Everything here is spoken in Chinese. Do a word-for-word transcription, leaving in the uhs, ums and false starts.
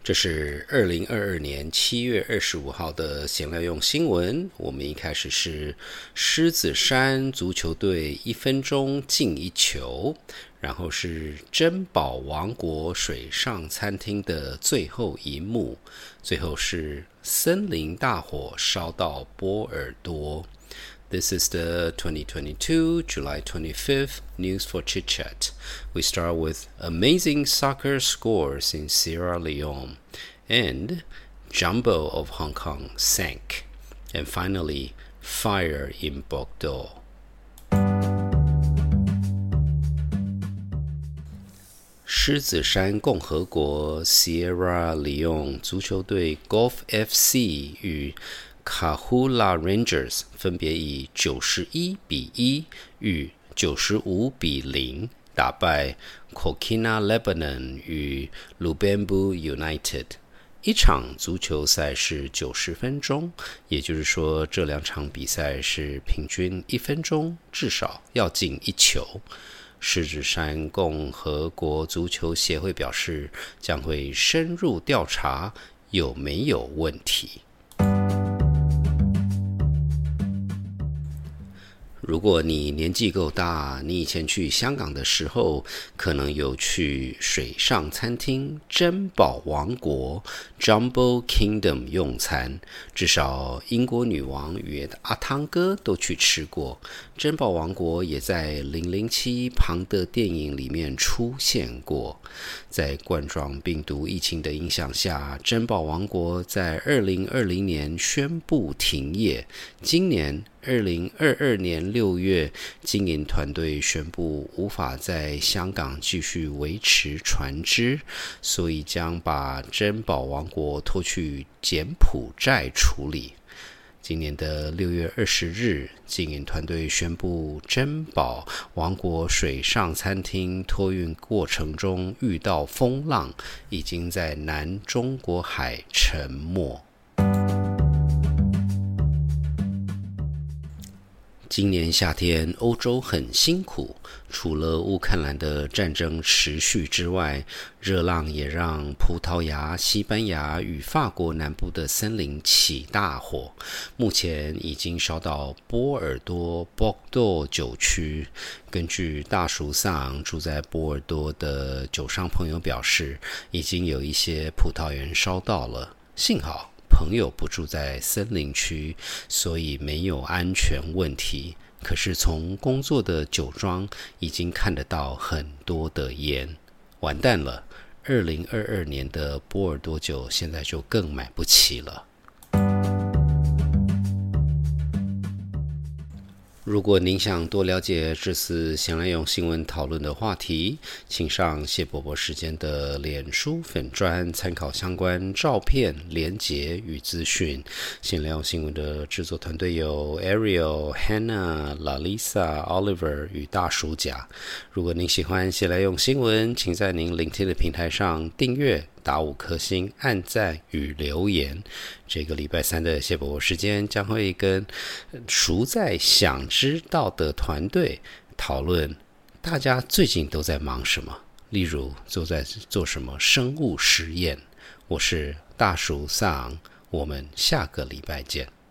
这是二零二二年七月二十五号的闲聊用新闻。我们一开始是狮子山足球队一分钟进一球，然后是珍宝王国水上餐厅的最后一幕，最后是森林大火烧到波尔多。This is the twenty twenty-two, July twenty-fifth News for Chit Chat. We start with amazing soccer scores in Sierra Leone and Jumbo of Hong Kong sank. And finally, fire in Bordeaux. 狮子山共和国 Sierra Leone 足球队 Golf F C 与Kahula Rangers 分别以九十一比一与九十五比零打败 Kokina Lebanon 与 Lubembu United。一场足球赛是九十分钟，也就是说这两场比赛是平均一分钟至少要进一球。狮子山共和国足球协会表示，将会深入调查有没有问题。如果你年纪够大，你以前去香港的时候，可能有去水上餐厅珍宝王国 Jumbo Kingdom 用餐，至少英国女王与阿汤哥都去吃过。珍宝王国也在零零七庞德电影里面出现过。在冠状病毒疫情的影响下，珍宝王国在二零二零年宣布停业。今年二零二二年六月，经营团队宣布无法在香港继续维持船只，所以将把珍宝王国拖去柬埔寨处理。今年的六月二十日，经营团队宣布珍宝王国水上餐厅托运过程中遇到风浪，已经在南中国海沉没。今年夏天欧洲很辛苦，除了乌克兰的战争持续之外，热浪也让葡萄牙、西班牙与法国南部的森林起大火，目前已经烧到波尔多 Bordeaux 酒区。根据大叔桑住在波尔多的酒商朋友表示，已经有一些葡萄园烧到了，幸好朋友不住在森林区，所以没有安全问题。可是从工作的酒庄已经看得到很多的烟，完蛋了！二零二二年的波尔多酒现在就更买不起了。如果您想多了解这次闲来用新闻讨论的话题，请上谢伯伯时间的脸书粉专参考相关照片、连结与资讯。闲来用新闻的制作团队有 Ariel、Hannah、Lalisa、Oliver 与大叔甲。如果您喜欢闲来用新闻，请在您聆听的平台上订阅、打五颗星、按赞与留言。这个礼拜三的谢伯伯时间将会跟熟在想知道的团队讨论大家最近都在忙什么，例如都在做什么生物实验。我是大叔桑，我们下个礼拜见。